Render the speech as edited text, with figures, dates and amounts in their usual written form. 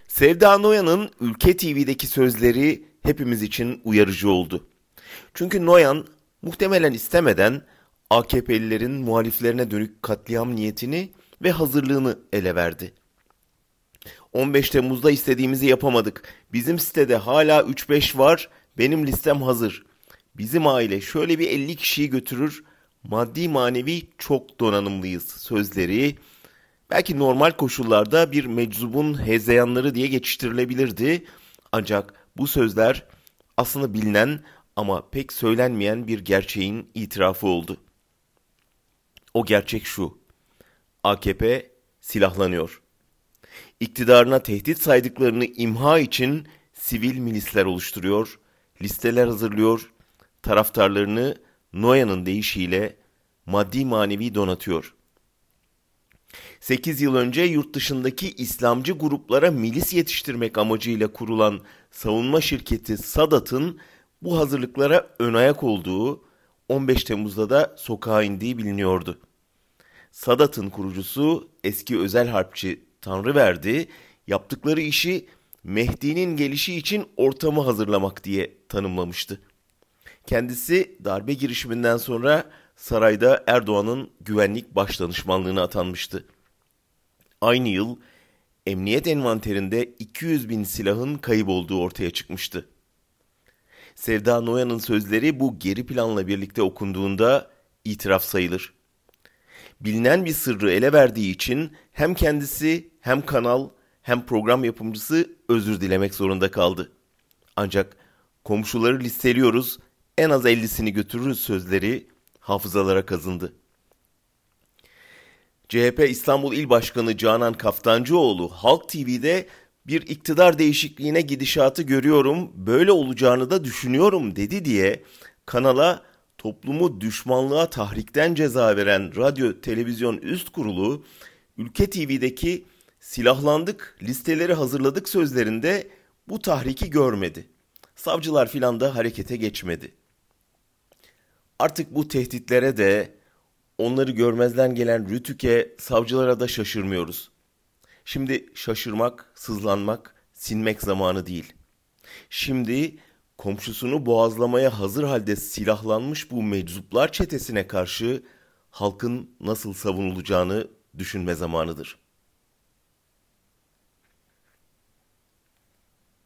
Sevda Noyan'ın Ülke TV'deki sözleri hepimiz için uyarıcı oldu. Çünkü Noyan muhtemelen istemeden AKP'lilerin muhaliflerine dönük katliam niyetini ve hazırlığını ele verdi. 15 Temmuz'da istediğimizi yapamadık. Bizim sitede hala 3-5 var, benim listem hazır. Bizim aile şöyle bir 50 kişiyi götürür, maddi manevi çok donanımlıyız sözleri belki normal koşullarda bir meczubun hezeyanları diye geçiştirilebilirdi. Ancak bu sözler aslında bilinen ama pek söylenmeyen bir gerçeğin itirafı oldu. O gerçek şu: AKP silahlanıyor. İktidarına tehdit saydıklarını imha için sivil milisler oluşturuyor, listeler hazırlıyor, taraftarlarını Noyan'ın deyişiyle maddi manevi donatıyor. 8 yıl önce yurt dışındaki İslamcı gruplara milis yetiştirmek amacıyla kurulan savunma şirketi Sadat'ın bu hazırlıklara ön ayak olduğu, 15 Temmuz'da da sokağa indiği biliniyordu. Sadat'ın kurucusu eski özel harpçi Tanrıverdi, yaptıkları işi Mehdi'nin gelişi için ortamı hazırlamak diye tanımlamıştı. Kendisi darbe girişiminden sonra sarayda Erdoğan'ın güvenlik başdanışmanlığına atanmıştı. Aynı yıl emniyet envanterinde 200 bin silahın kayıp olduğu ortaya çıkmıştı. Sevda Noyan'ın sözleri bu geri planla birlikte okunduğunda itiraf sayılır. Bilinen bir sırrı ele verdiği için hem kendisi hem kanal hem program yapımcısı özür dilemek zorunda kaldı. Ancak komşuları listeliyoruz, en az 50'sini götürürüz sözleri hafızalara kazındı. CHP İstanbul İl Başkanı Canan Kaftancıoğlu Halk TV'de bir iktidar değişikliğine gidişatı görüyorum, böyle olacağını da düşünüyorum dedi diye kanala toplumu düşmanlığa tahrikten ceza veren Radyo Televizyon Üst Kurulu, Ülke TV'deki silahlandık, listeleri hazırladık sözlerinde bu tahriki görmedi. Savcılar filan da harekete geçmedi. Artık bu tehditlere de, onları görmezden gelen Rütük'e, savcılara da şaşırmıyoruz. Şimdi şaşırmak, sızlanmak, sinmek zamanı değil. Şimdi komşusunu boğazlamaya hazır halde silahlanmış bu meczuplar çetesine karşı halkın nasıl savunulacağını düşünme zamanıdır.